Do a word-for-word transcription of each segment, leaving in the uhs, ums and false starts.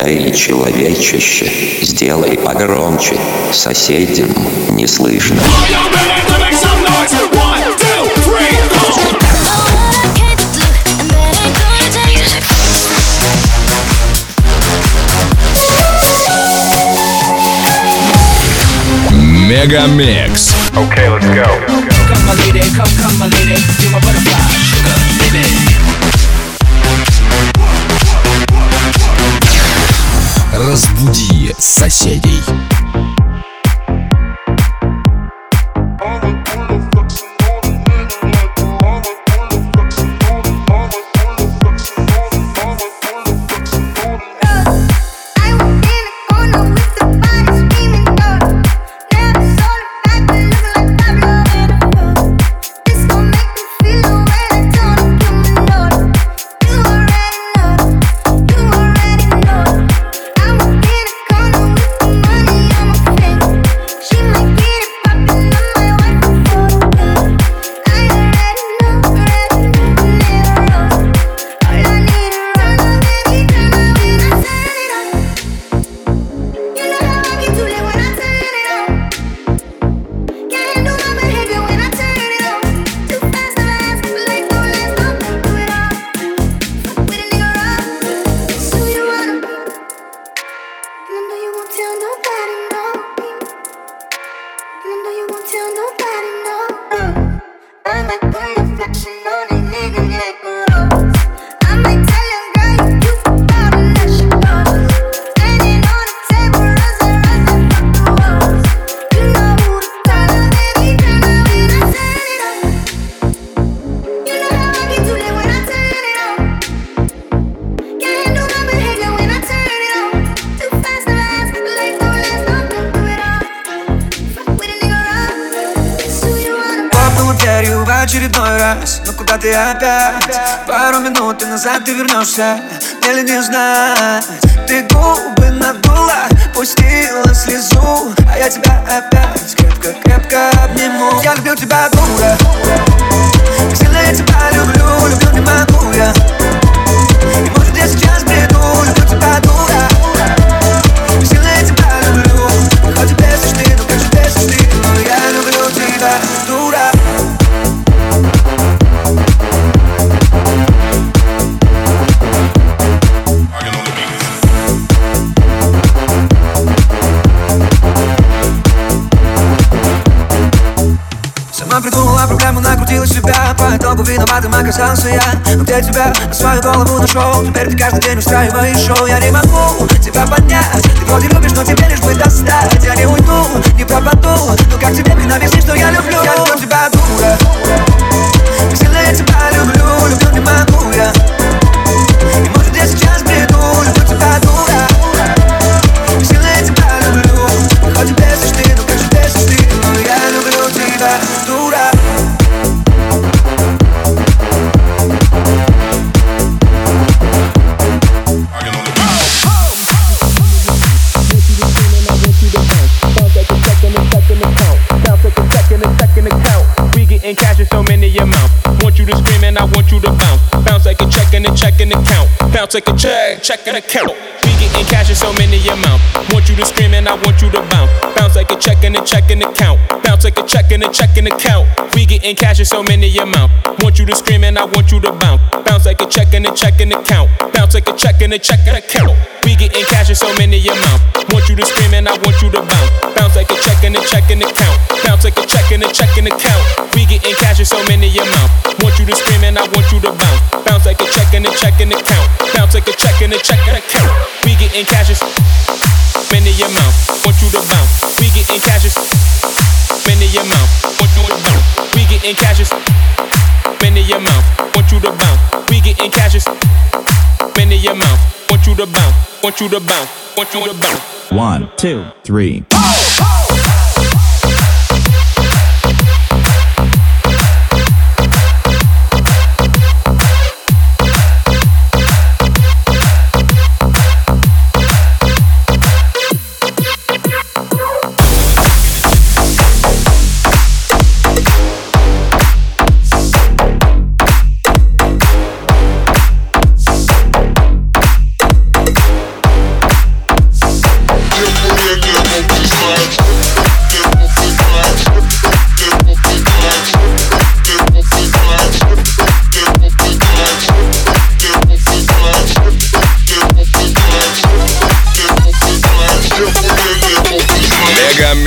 Эй, человечище, сделай погромче, соседям не слышно. Мегамикс. Okay, let's go. Come my lady, come, come my lady, you're my butterfly, sugar, baby. Разбуди соседей. Очередной раз, но куда ты опять? Пару минут и назад ты вернешься, мне ли не знать? Ты губы надула, пустила слезу, а я тебя опять крепко-крепко обниму. Я люблю тебя, дура, как сильно я тебя люблю, люблю не могу я. И может я сейчас бреду, люблю тебя, дура, как сильно я тебя люблю. Хоть и бесишь ты, ну как же бесишь ты, но я люблю тебя, дура. Сама придумала проблему, накрутила себя, по итогу виноватым оказался я. Но где тебя на свою голову нашел? Теперь ты каждый день устраиваешь шоу. Я не могу тебя понять, ты вроде любишь, но тебе лишь бы достать. Я не уйду, не пропаду, но как тебе мне объяснить, что я люблю? Я люблю тебя, дура, как сильно я тебя люблю, люблю не могу я. И может я сейчас бреду, люблю тебя, дура, как сильно я тебя люблю. Хоть и бесишь ты, ну как же бесишь ты, но я люблю тебя, дура. In cash in so many amounts. Want you to scream and I want you to bounce. Bounce like a check and a check and a count. Bounce like a check, check and a count. We get in cash in so many amounts. Want you to scream and I want you to bounce. Bounce like a check and a check and a count. Bounce like a check and a check and a count. We get in cash in so many amounts. Want you to scream and I want you to bounce. Bounce like a check and a check and a count. Bounce like a check and a check and a count. We get in cash in so many amounts. Want you to scream and I want you to bounce. Bounce like a check and a check and a count. Bounce like a check and a check and a count. We get in cash in so many amounts. Want you to scream and I want you to bounce. Bounce like a check and a check and a count. Bounce like a check and a check and a count. We get in cash in many amounts. Want you to bounce. We get in cash in many amounts. Want you to bounce. We get in cash in many amounts. Want you to bounce. We get in cash in many amounts. Want you to bounce. Want you to bounce. Want you to bounce. One, two, three.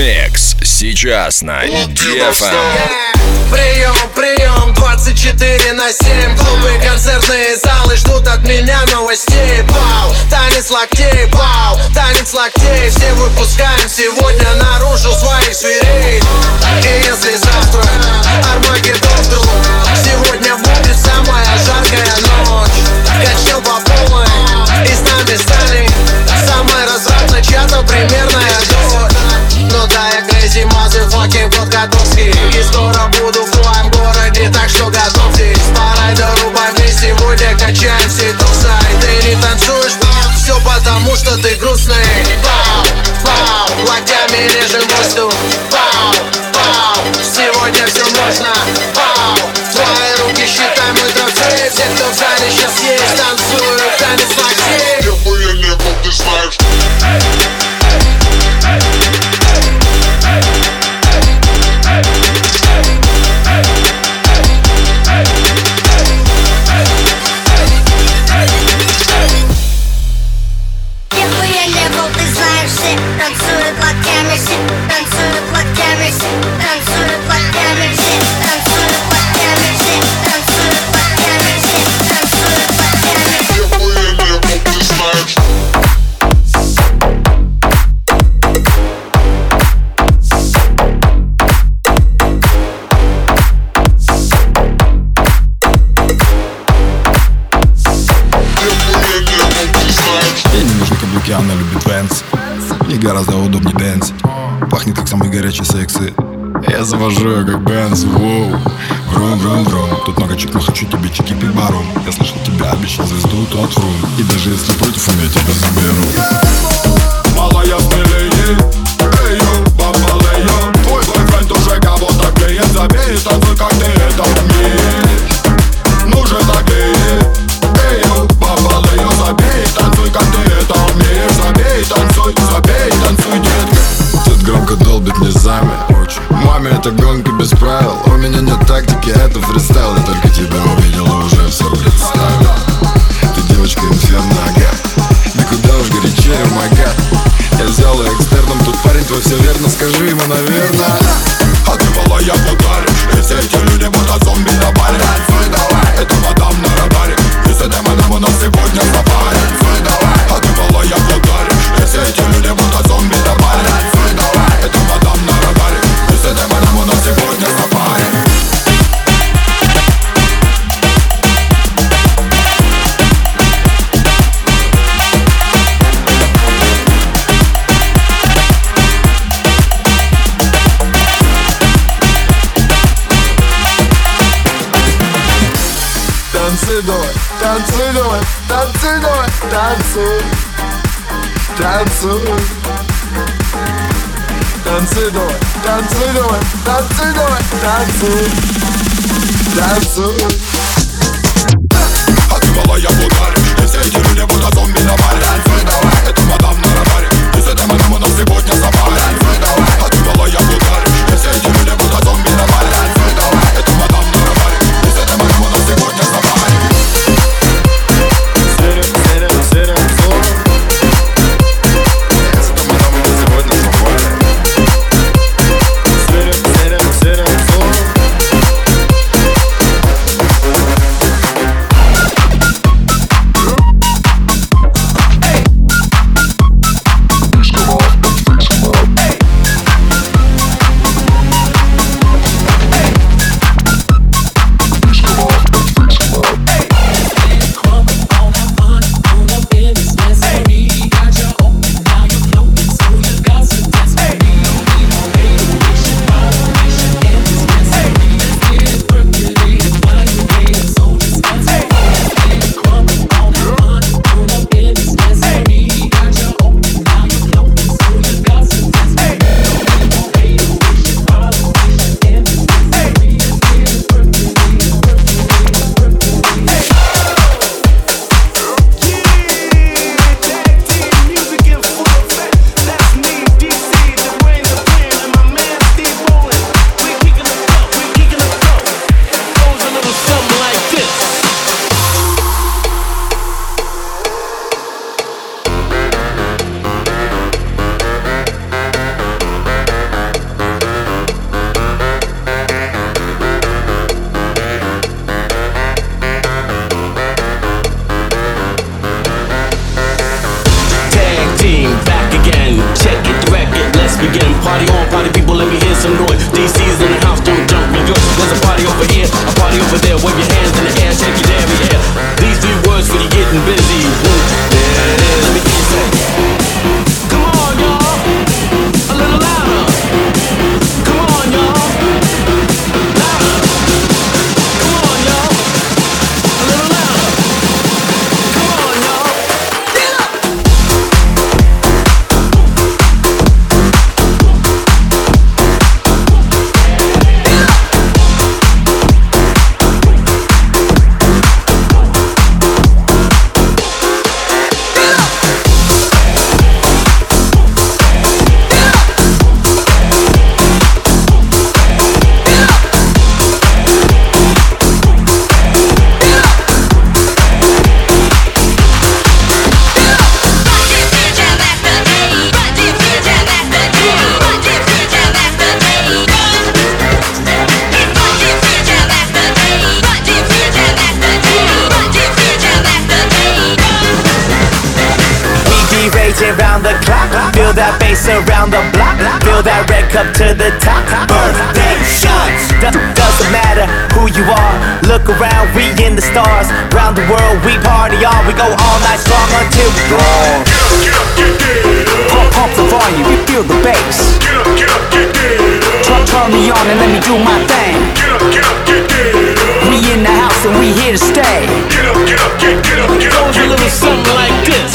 Мегмикс сейчас на ди эф эм. Прием, прием, двадцать четыре на семь. Клубы, концертные залы ждут от меня новостей. Вау, танец локтей, вау, танец локтей. Все выпускаем сегодня наружу своих зверей. И если завтра Армагеддон вдруг, сегодня будет самая жаркая ночь. Качнем по полной, и с нами стали самой развратной чья-то примерная дочь. Ну да, я Crazy Motherfucking Подготовский, и скоро буду в твоем городе, так что готовьтесь. Пора дорубать, мы сегодня качаем все туса. И ты не танцуешь, все потому что ты грустный. Вау, вау, локтями режем воздух. Вау, вау, сегодня все можно. Вау, твои руки считай мой трофей. Все, кто в зале сейчас есть, танцуют танец локтей. Любые лето ты знаешь. Танцуют локтями все, танцуют локтями все, танцуют локтями все, танцуют локтями все, танцуют локтями все, танцуют локтями все. Любые лето ты знаешь. Ей не нужны каблуки, она любит венс. Ей гораздо удобнее дэнс. Пахнет как самый горячий сексы. Я завожу ее как Бенз, воу. Врум, врум, врум. Тут много чек, но хочу тебе чеки пить баром. Я слышал, тебя обещал звезду тот фрум. И даже если против, я тебя заберу. Малая смелее, эйо, бабалея. Твой бойфренд уже кого-то клеит. Забей, танцуй, как ты это умеешь. Ну же такие, эйо, бабалея. Забей, танцуй, как ты это умеешь. Забей, танцуй, забей, танцуй, детка. Тут громко долбит низами. Маме, это гонка без правил. У меня нет тактики, это фристайл. Я только тебя увидела, уже все представила. Ты девочка инферно, ага. Да куда уж горячее, мага. Я взял ее экстерном, тут парень твой все верно. Скажи ему, наверное. А ты малая подаришь. И все эти люди будут зомби на баре. Танцуй давай, это мадам на радаре. И с этим мадам у нас сегодня сафари. Танцуй давай, а ты малая подаришь. И все эти люди будут зомби на баре. Танцуй давай, это мадам на радаре. И с этим мадам у нас сегодня сафари. Танцуй давай, танцуй давай, танцуй давай, танцуй, танцуй. Танцуй давай, танцуй давай, танцуй давай, танцуй, танцуй. А ты малая ударишь, и все эти люди будут зомби на баре. Танцуй давай, это мадам на радаре. И с этой мадам у нас сегодня сафари. Танцуй давай, а ты малая ударишь, и все эти люди будут зомби на баре. Танцуй давай, это мадам на радаре. И с этой мадам у нас сегодня сафари. begin. Party on, party people, let me hear some noise. D C's in the house, don't jump New York. There's a party over here, a party over there. Wave your hands in the air, shake your damn yeah. These few words for you getting busy. Woo. Yeah, yeah, let me hear you say. Come on, y'all, a little louder. Come on, y'all, louder. Come on, y'all, a little louder. Come on, y'all, get up. Round the clock, feel that bass around the block, feel that red cup to the top. Birthday shots, Do- doesn't matter who you are. Look around, we in the stars. Round the world, we party on. We go all night strong until we gone. Pump, pump the volume, you feel the bass. Turn, turn me on and let me do my thing. We in the house and we here to stay. It goes a little something like this.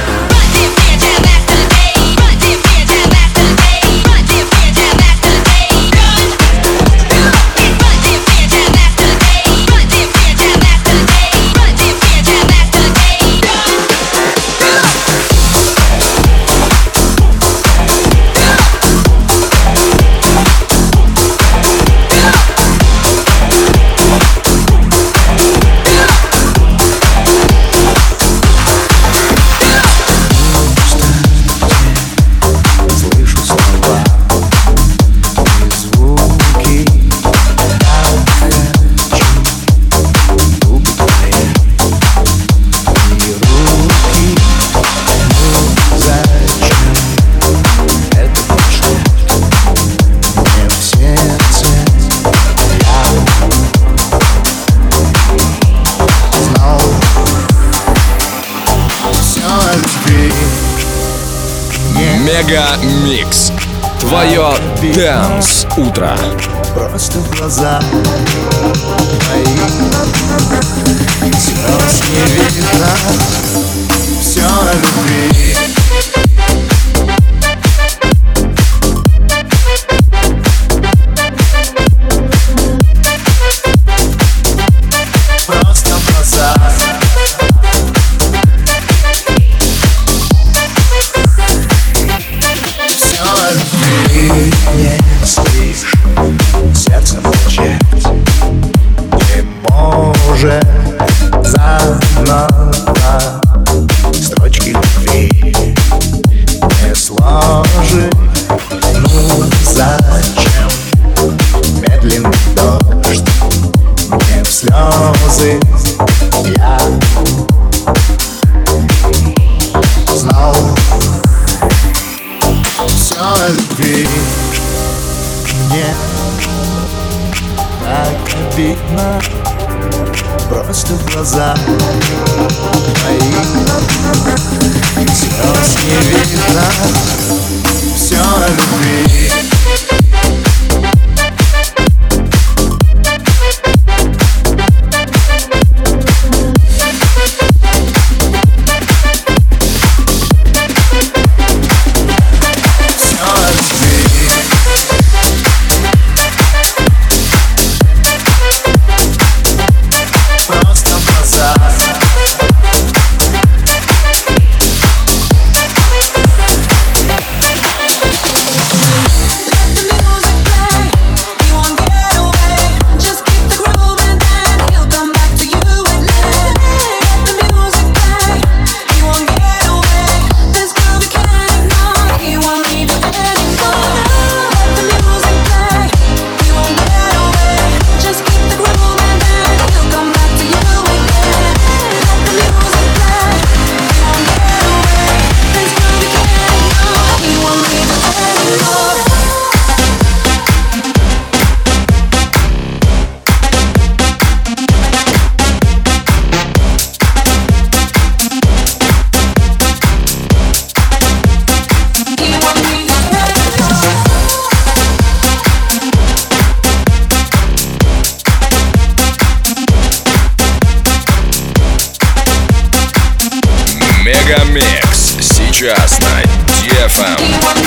Мега Микс. Твое Dance утро. Просто в глаза мои слез не видно. Все о любви. Просто в глаза. Если сердце молчит, не может заново строчки любви не сложить. Ну зачем медленный дождь мне в слезы? Я знал все о любви. Мне так обидно, просто в глаза мои слез не видно. Все о любви. эф эм.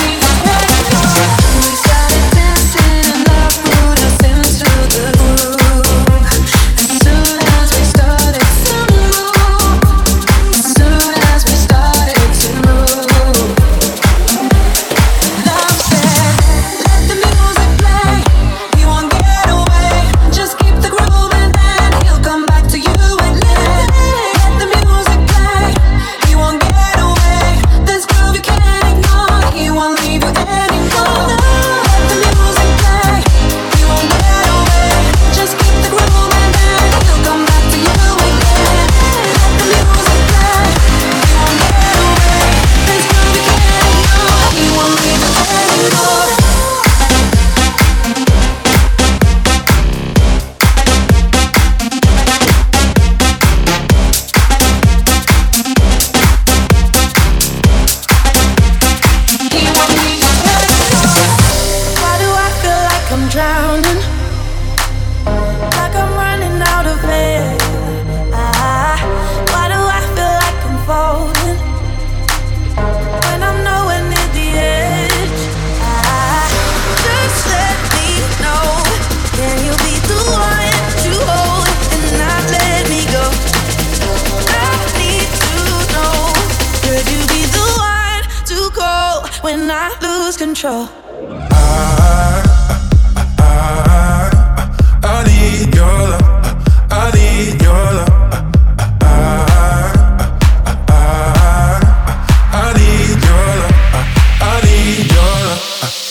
When I lose control, I, I, I, I need your love. I need your love. I, I, I need your love. I need your love.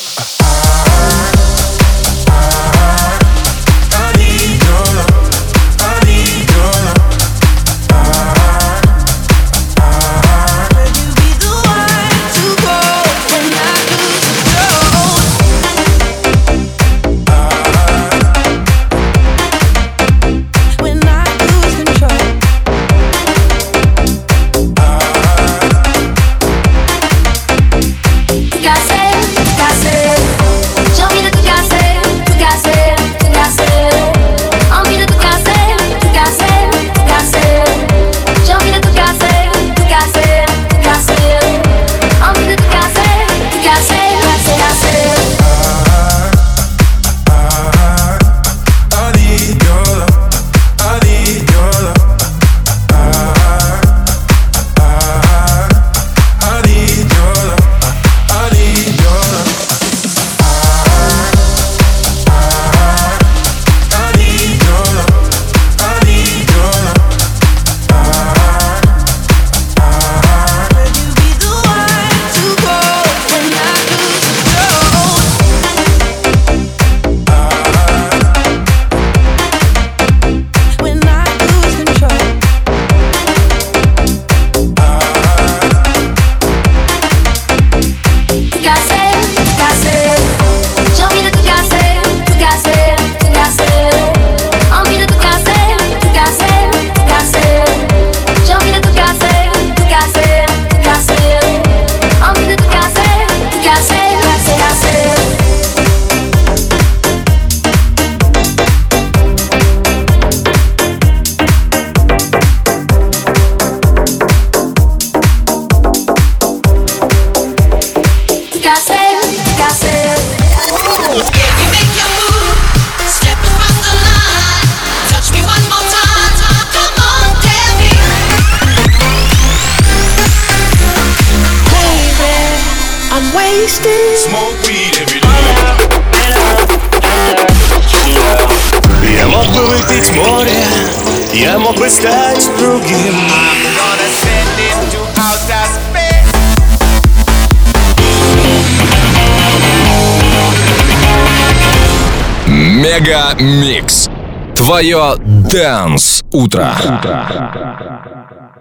I need your love. I need your love. could you be the one to go when I lose Smoke weed every day. Я мог бы выпить море, я мог бы стать другим. Мега Микс. Твое Dance утро.